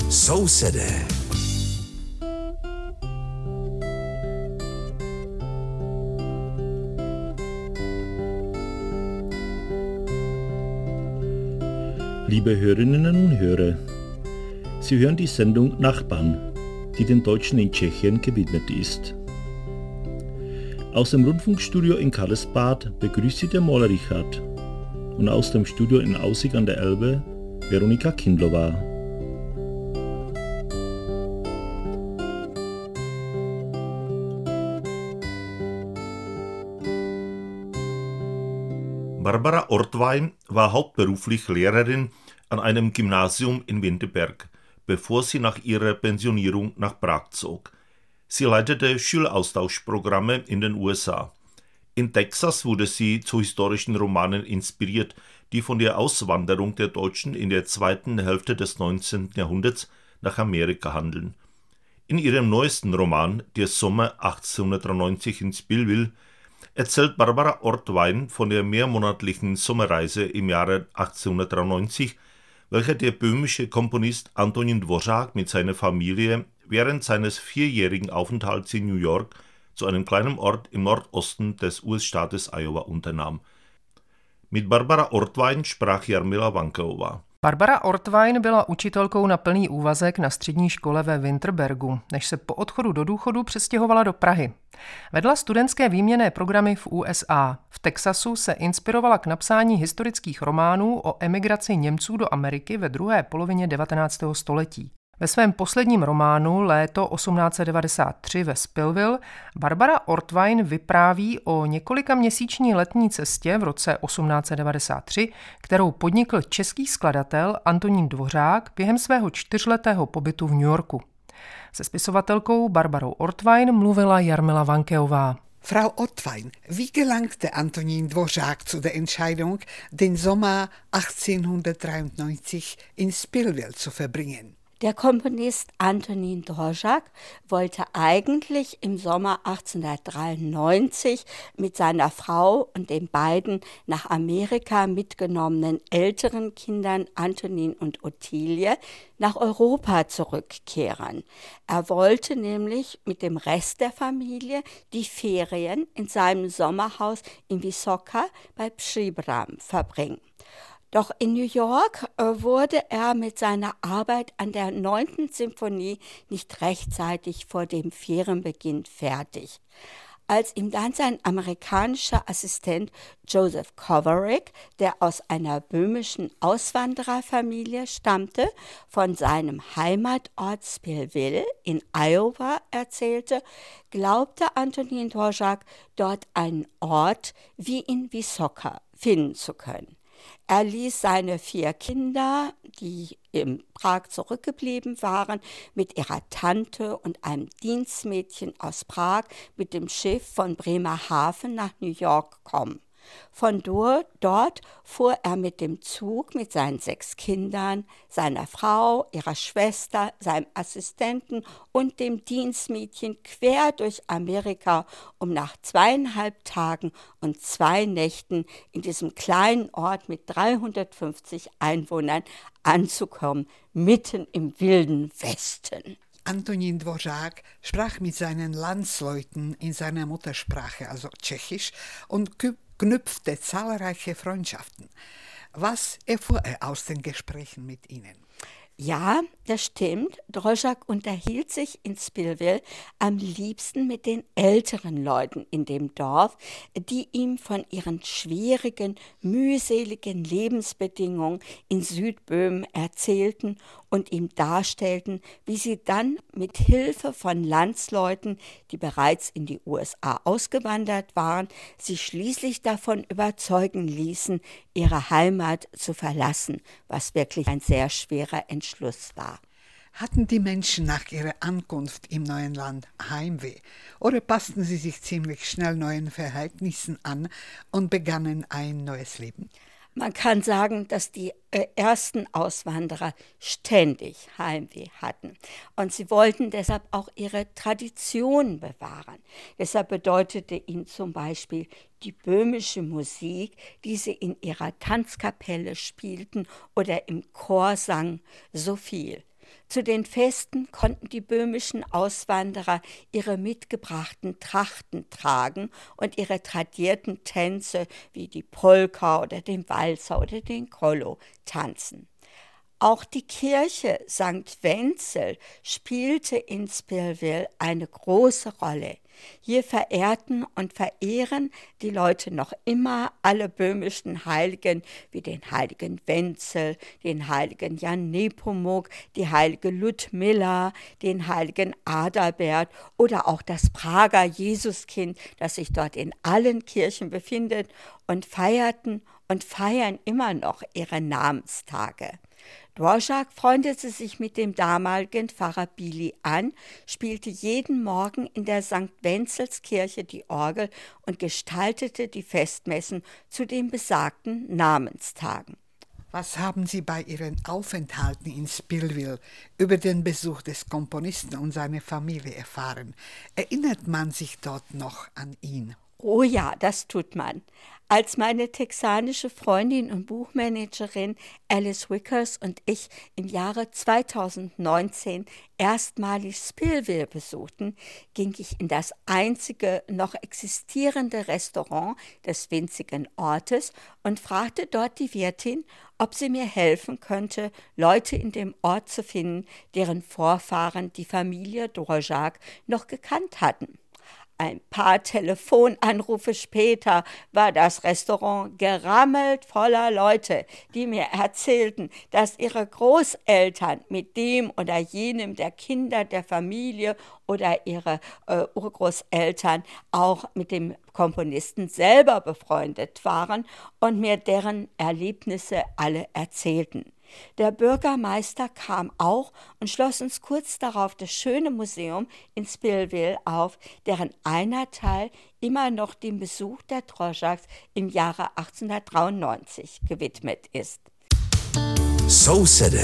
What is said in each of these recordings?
Sousedé. Liebe Hörerinnen und Hörer, Sie hören die Sendung Nachbarn, die den Deutschen in Tschechien gewidmet ist. Aus dem Rundfunkstudio in Karlsbad begrüßt Sie der Moller Richard und aus dem Studio in Aussig an der Elbe Veronika Kindlova. Barbara Ortwein war hauptberuflich Lehrerin an einem Gymnasium in Winterberg, bevor sie nach ihrer Pensionierung nach Prag zog. Sie leitete Schüleraustauschprogramme in den USA. In Texas wurde sie zu historischen Romanen inspiriert, die von der Auswanderung der Deutschen in der zweiten Hälfte des 19. Jahrhunderts nach Amerika handeln. In ihrem neuesten Roman Der Sommer 1893 in Spillville erzählt Barbara Ortwein von der mehrmonatlichen Sommerreise im Jahre 1893, welcher der böhmische Komponist Antonín Dvořák mit seiner Familie während seines 4-jährigen Aufenthalts in New York zu einem kleinen Ort im Nordosten des US-Staates Iowa unternahm. Mit Barbara Ortwein sprach Jarmila Vankeová. Barbara Ortwein byla učitelkou na plný úvazek na střední škole ve Winterbergu, než se po odchodu do důchodu přestěhovala do Prahy. Vedla studentské výměnné programy v USA. V Texasu se inspirovala k napsání historických románů o emigraci Němců do Ameriky ve druhé polovině 19. století. Ve svém posledním románu Léto 1893 ve Spillville Barbara Ortwein vypráví o několikaměsíční letní cestě v roce 1893, kterou podnikl český skladatel Antonín Dvořák během svého 4letého pobytu v New Yorku. Se spisovatelkou Barbarou Ortwein mluvila Jarmila Vankeová. Frau Ortwein, wie gelangte Antonín Dvořák zu der Entscheidung, den Sommer 1893 in Spillville zu verbringen? Der Komponist Antonín Dvořák wollte eigentlich im Sommer 1893 mit seiner Frau und den beiden nach Amerika mitgenommenen älteren Kindern Antonín und Ottilie nach Europa zurückkehren. Er wollte nämlich mit dem Rest der Familie die Ferien in seinem Sommerhaus in Vysoká bei Příbram verbringen. Doch in New York wurde er mit seiner Arbeit an der 9. Symphonie nicht rechtzeitig vor dem Ferienbeginn fertig. Als ihm dann sein amerikanischer Assistent Joseph Kovaric, der aus einer böhmischen Auswandererfamilie stammte, von seinem Heimatort Spillville in Iowa erzählte, glaubte Antonín Dvořák, dort einen Ort wie in Vysoká finden zu können. Er ließ seine 4 Kinder, die in Prag zurückgeblieben waren, mit ihrer Tante und einem Dienstmädchen aus Prag mit dem Schiff von Bremerhaven nach New York kommen. Von dort fuhr er mit dem Zug mit seinen 6 Kindern, seiner Frau, ihrer Schwester, seinem Assistenten und dem Dienstmädchen quer durch Amerika, um nach 2,5 Tagen und 2 Nächten in diesem kleinen Ort mit 350 Einwohnern anzukommen, mitten im wilden Westen. Antonín Dvořák sprach mit seinen Landsleuten in seiner Muttersprache, also Tschechisch, und knüpfte zahlreiche Freundschaften. Was erfuhr er aus den Gesprächen mit ihnen? Ja, das stimmt. Dvořák unterhielt sich in Spillville am liebsten mit den älteren Leuten in dem Dorf, die ihm von ihren schwierigen, mühseligen Lebensbedingungen in Südböhmen erzählten und ihm darstellten, wie sie dann mit Hilfe von Landsleuten, die bereits in die USA ausgewandert waren, sich schließlich davon überzeugen ließen, ihre Heimat zu verlassen, was wirklich ein sehr schwerer Entschluss war. Hatten die Menschen nach ihrer Ankunft im neuen Land Heimweh oder passten sie sich ziemlich schnell neuen Verhältnissen an und begannen ein neues Leben? Man kann sagen, dass die ersten Auswanderer ständig Heimweh hatten. Und sie wollten deshalb auch ihre Traditionen bewahren. Deshalb bedeutete ihnen zum Beispiel die böhmische Musik, die sie in ihrer Tanzkapelle spielten oder im Chor sangen, so viel. Zu den Festen konnten die böhmischen Auswanderer ihre mitgebrachten Trachten tragen und ihre tradierten Tänze wie die Polka oder den Walzer oder den Kollo tanzen. Auch die Kirche St. Wenzel spielte in Spillville eine große Rolle. Hier verehrten und verehren die Leute noch immer alle böhmischen Heiligen wie den heiligen Wenzel, den heiligen Jan Nepomuk, die heilige Ludmilla, den heiligen Adalbert oder auch das Prager Jesuskind, das sich dort in allen Kirchen befindet, und feierten und feiern immer noch ihre Namenstage. Dvořák freundete sich mit dem damaligen Pfarrer Bili an, spielte jeden Morgen in der St. Wenzelskirche die Orgel und gestaltete die Festmessen zu den besagten Namenstagen. Was haben Sie bei Ihren Aufenthalten in Spillville über den Besuch des Komponisten und seiner Familie erfahren? Erinnert man sich dort noch an ihn? Oh ja, das tut man. Als meine texanische Freundin und Buchmanagerin Alice Wickers und ich im Jahre 2019 erstmalig Spillville besuchten, ging ich in das einzige noch existierende Restaurant des winzigen Ortes und fragte dort die Wirtin, ob sie mir helfen könnte, Leute in dem Ort zu finden, deren Vorfahren die Familie Dvořák noch gekannt hatten. Ein paar Telefonanrufe später war das Restaurant gerammelt voller Leute, die mir erzählten, dass ihre Großeltern mit dem oder jenem der Kinder der Familie oder ihre Urgroßeltern auch mit dem Komponisten selber befreundet waren und mir deren Erlebnisse alle erzählten. Der Bürgermeister kam auch und schloss uns kurz darauf das schöne Museum in Spillville auf, deren einer Teil immer noch dem Besuch der Dvořáks im Jahre 1893 gewidmet ist. So City.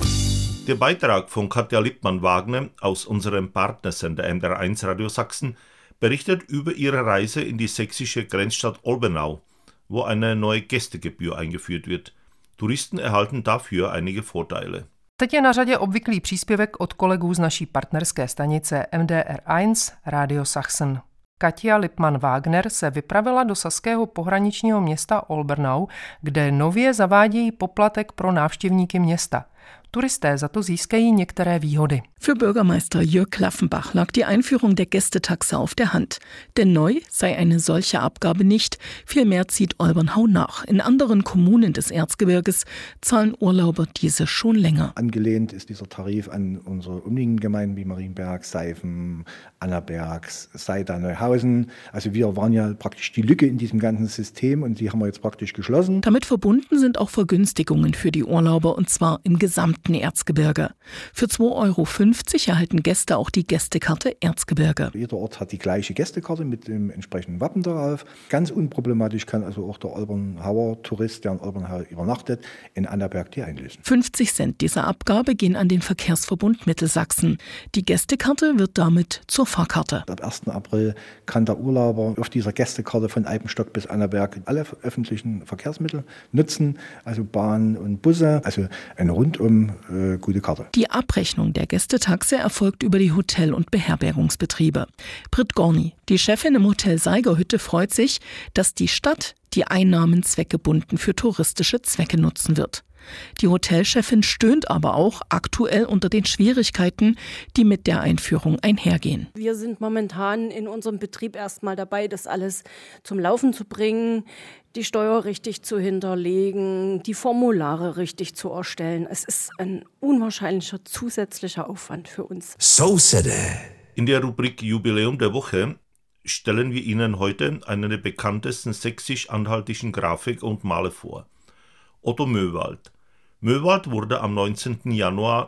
Der Beitrag von Katja Lippmann-Wagner aus unserem Partnersender MDR1 Radio Sachsen berichtet über ihre Reise in die sächsische Grenzstadt Olbernau, wo eine neue Gästegebühr eingeführt wird. Touristen erhalten dafür einige Vorteile. Teď je na řadě obvyklý příspěvek od kolegů z naší partnerské stanice MDR1 Radio Sachsen. Katja Lippmann-Wagner se vypravila do saského pohraničního města Olbernau, kde nově zavádějí poplatek pro návštěvníky města. Turisté za to získají některé výhody. Für Bürgermeister Jörg Klaffenbach lag die Einführung der Gästetaxe auf der Hand. Denn neu sei eine solche Abgabe nicht, vielmehr zieht Olbernau nach. In anderen Kommunen des Erzgebirges zahlen Urlauber diese schon länger. Angelehnt ist dieser Tarif an unsere umliegenden Gemeinden wie Marienberg, Seifen, Annaberg, Seida, Neuhausen. Also wir waren ja praktisch die Lücke in diesem ganzen System und die haben wir jetzt praktisch geschlossen. Damit verbunden sind auch Vergünstigungen für die Urlauber und zwar im gesamten Erzgebirge. Für 2,50 € erhalten Gäste auch die Gästekarte Erzgebirge. Jeder Ort hat die gleiche Gästekarte mit dem entsprechenden Wappen darauf. Ganz unproblematisch kann also auch der Olbernhauer Tourist, der in Olbernhau übernachtet, in Annaberg die einlösen. 50 Cent dieser Abgabe gehen an den Verkehrsverbund Mittelsachsen. Die Gästekarte wird damit zur Fahrkarte. Ab 1. April kann der Urlauber auf dieser Gästekarte von Eibenstock bis Annaberg alle öffentlichen Verkehrsmittel nutzen, also Bahn und Busse, also eine rundum gute Karte. Die Abrechnung der Gästetaxe erfolgt über die Hotel- und Beherbergungsbetriebe. Britt Gorni, die Chefin im Hotel Seigerhütte, freut sich, dass die Stadt die Einnahmen zweckgebunden für touristische Zwecke nutzen wird. Die Hotelchefin stöhnt aber auch aktuell unter den Schwierigkeiten, die mit der Einführung einhergehen. Wir sind momentan in unserem Betrieb erstmal dabei, das alles zum Laufen zu bringen, die Steuer richtig zu hinterlegen, die Formulare richtig zu erstellen. Es ist ein unwahrscheinlicher zusätzlicher Aufwand für uns. So City. In der Rubrik Jubiläum der Woche stellen wir Ihnen heute einen der bekanntesten sächsisch-anhaltischen Grafik und Maler vor. Otto Möwald. Möwald wurde am 19. Januar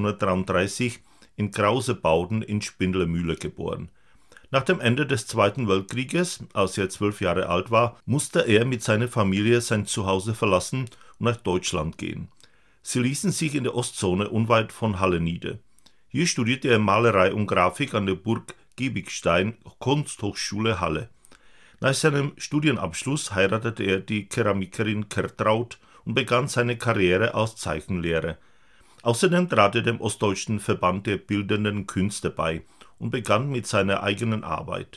1933 in Krausebauden in Spindlermühle geboren. Nach dem Ende des Zweiten Weltkrieges, als er 12 Jahre alt war, musste er mit seiner Familie sein Zuhause verlassen und nach Deutschland gehen. Sie ließen sich in der Ostzone unweit von Halle nieder. Hier studierte er Malerei und Grafik an der Burg Giebigstein Kunsthochschule Halle. Nach seinem Studienabschluss heiratete er die Keramikerin Kertraud und begann seine Karriere als Zeichenlehrer. Außerdem trat er dem Ostdeutschen Verband der Bildenden Künste bei und begann mit seiner eigenen Arbeit.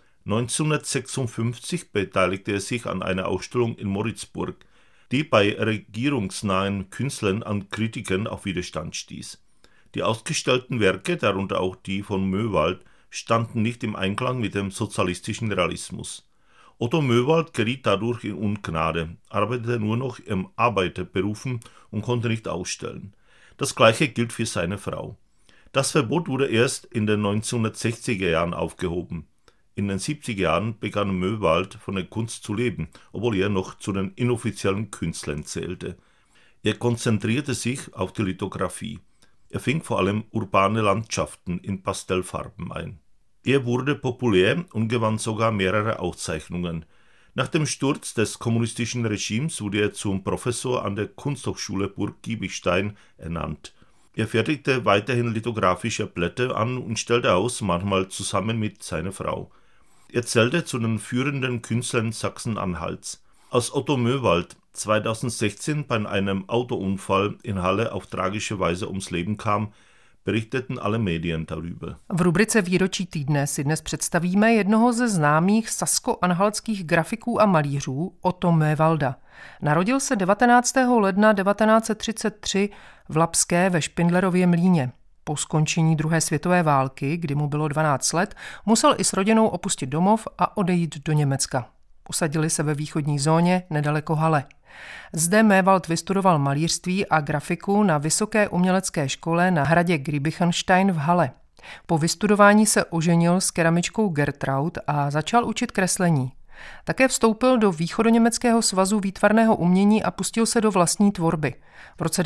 1956 beteiligte er sich an einer Ausstellung in Moritzburg, die bei regierungsnahen Künstlern an Kritikern auf Widerstand stieß. Die ausgestellten Werke, darunter auch die von Möwald, standen nicht im Einklang mit dem sozialistischen Realismus. Otto Möwald geriet dadurch in Ungnade, arbeitete nur noch in Arbeiterberufen und konnte nicht ausstellen. Das Gleiche gilt für seine Frau. Das Verbot wurde erst in den 1960er Jahren aufgehoben. In den 70er Jahren begann Möwald von der Kunst zu leben, obwohl er noch zu den inoffiziellen Künstlern zählte. Er konzentrierte sich auf die Lithografie. Er fing vor allem urbane Landschaften in Pastellfarben ein. Er wurde populär und gewann sogar mehrere Auszeichnungen. Nach dem Sturz des kommunistischen Regimes wurde er zum Professor an der Kunsthochschule Burg-Giebichtein ernannt. Er fertigte weiterhin lithografische Blätter an und stellte aus, manchmal zusammen mit seiner Frau. Er zählte zu den führenden Künstlern Sachsen-Anhalts. Als Otto Möwald 2016 bei einem Autounfall in Halle auf tragische Weise ums Leben kam, berichteten alle Medien darüber. V rubrice Výročí týdne si dnes představíme jednoho ze známých sasko-anhaltských grafiků a malířů, Otto Möwalda. Narodil se 19. ledna 1933 v Lapské ve Špindlerově Mlýně. Po skončení druhé světové války, kdy mu bylo 12 let, musel i s rodinou opustit domov a odejít do Německa. Usadili se ve východní zóně nedaleko Halle. Zde Möwald vystudoval malířství a grafiku na Vysoké umělecké škole na hradě Giebichenstein v Halle. Po vystudování se oženil s keramičkou Gertraud a začal učit kreslení. Také vstoupil do Východoněmeckého svazu výtvarného umění a pustil se do vlastní tvorby. V roce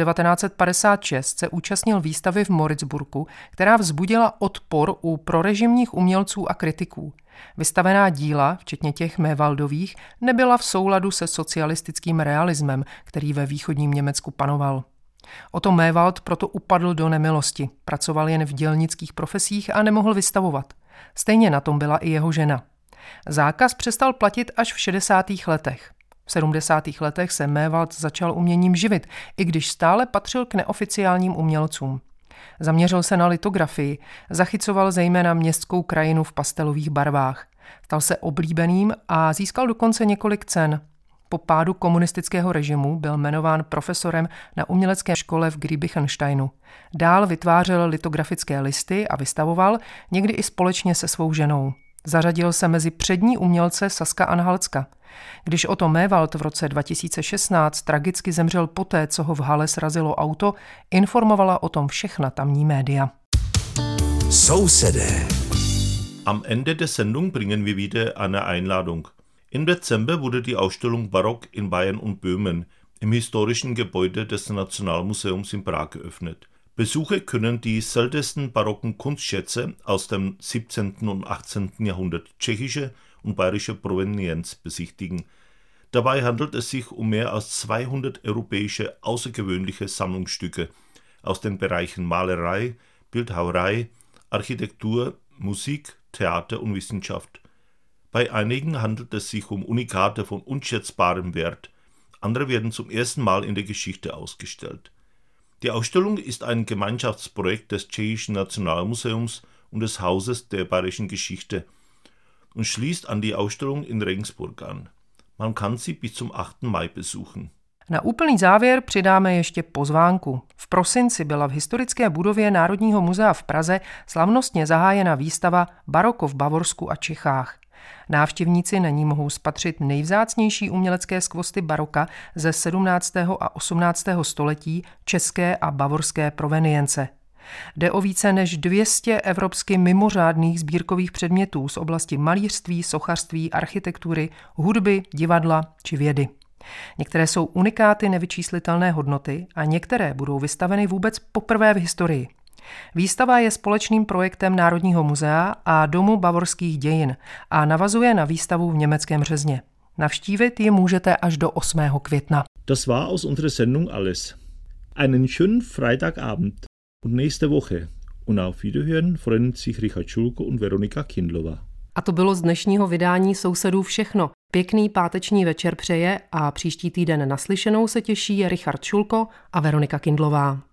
1956 se účastnil výstavy v Moritzburgu, která vzbudila odpor u prorežimních umělců a kritiků. Vystavená díla, včetně těch Möwaldových, nebyla v souladu se socialistickým realismem, který ve východním Německu panoval. Otto Möwald proto upadl do nemilosti, pracoval jen v dělnických profesích a nemohl vystavovat. Stejně na tom byla i jeho žena. Zákaz přestal platit až v 60. letech. V 70. letech se Möwald začal uměním živit, i když stále patřil k neoficiálním umělcům. Zaměřil se na litografii, zachycoval zejména městskou krajinu v pastelových barvách. Stal se oblíbeným a získal dokonce několik cen. Po pádu komunistického režimu byl jmenován profesorem na umělecké škole v Giebichensteinu. Dál vytvářel litografické listy a vystavoval, někdy i společně se svou ženou. Zařadil se mezi přední umělce Saska-Anhaltska. Když Otto Möwald v roce 2016 tragicky zemřel poté, co ho v Halle srazilo auto, informovala o tom všechna tamní média. Sousedé. Am Ende der Sendung bringen wir wieder eine Einladung. Im Dezember wurde die Ausstellung Barock in Bayern und Böhmen im historischen Gebäude des Nationalmuseums in Prag geöffnet. Besucher können die seltensten barocken Kunstschätze aus dem 17. und 18. Jahrhundert tschechische und bayerische Provenienz besichtigen. Dabei handelt es sich um mehr als 200 europäische außergewöhnliche Sammlungsstücke aus den Bereichen Malerei, Bildhauerei, Architektur, Musik, Theater und Wissenschaft. Bei einigen handelt es sich um Unikate von unschätzbarem Wert, andere werden zum ersten Mal in der Geschichte ausgestellt. Die Ausstellung ist ein Gemeinschaftsprojekt des Tschechischen Nationalmuseums und des Hauses der Bayerischen Geschichte und schließt an die Ausstellung in Regensburg an. Man kann sie bis zum 8. Mai besuchen. Na úplný závěr přidáme ještě pozvánku. V prosinci byla v historické budově Národního muzea v Praze slavnostně zahájena výstava Baroko v Bavorsku a Čechách. Návštěvníci na ní mohou spatřit nejvzácnější umělecké skvosty baroka ze 17. a 18. století české a bavorské provenience. Jde o více než 200 evropsky mimořádných sbírkových předmětů z oblasti malířství, sochařství, architektury, hudby, divadla či vědy. Některé jsou unikáty nevyčíslitelné hodnoty a některé budou vystaveny vůbec poprvé v historii. Výstava je společným projektem Národního muzea a Domu bavorských dějin a navazuje na výstavu v Německém Březně. Navštívit ji můžete až do 8. května. Das war aus unserer Sendung alles. Einen schönen Freitagabend und nächste Woche. Und auf Wiederhören freuen sich Richard Schulko und Veronika Kindlová. A to bylo z dnešního vydání Sousedů všechno. Pěkný páteční večer přeje a příští týden naslyšenou se těší Richard Schulko a Veronika Kindlová.